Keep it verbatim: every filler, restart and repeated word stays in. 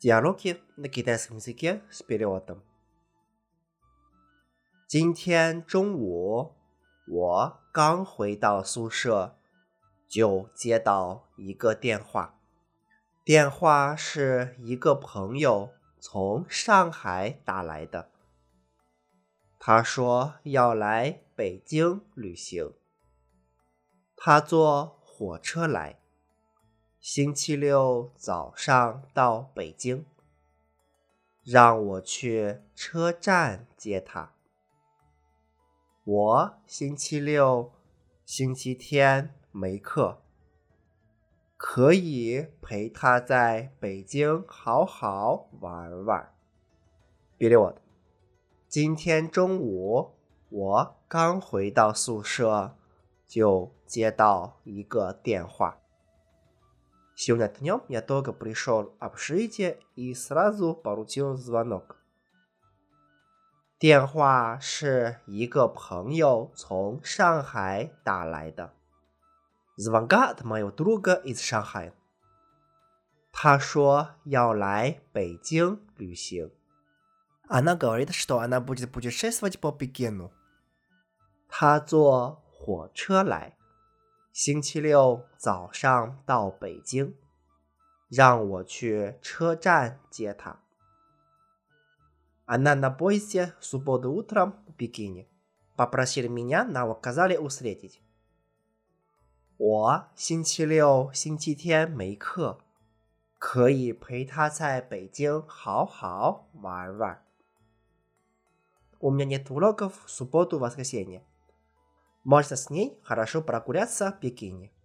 Диалоги на китайском языке с переводом. 今天中午我刚回到宿舍，就接到一个电话。电话是一个朋友从上海打来的，他说要来北京旅行。他坐火车来，星期六早上到北京，让我去车站接他。我星期六、星期天没课，可以陪他在北京好好玩玩。Перевод. 今天中午我刚回到宿舍，就接到一个电话。Сегодня днем я только пришел в общежитие и сразу получил звонок. 电话是一个朋友从上海打来的。Звонка от моего друга из Шанхая. 他说要来北京旅行。Она говорит, что она будет путешествовать по Пекину. 他坐火车来，星期六早上到北京，让我去车站接他。Она на поезде в субботу утром в Пекине. Попросили меня, нас указали встретить. 我星期六、星期天没课，可以陪他在北京好好玩玩。У меня нет уроков в субботу и воскресенье. Можно с ней хорошо прогуляться в Пекине.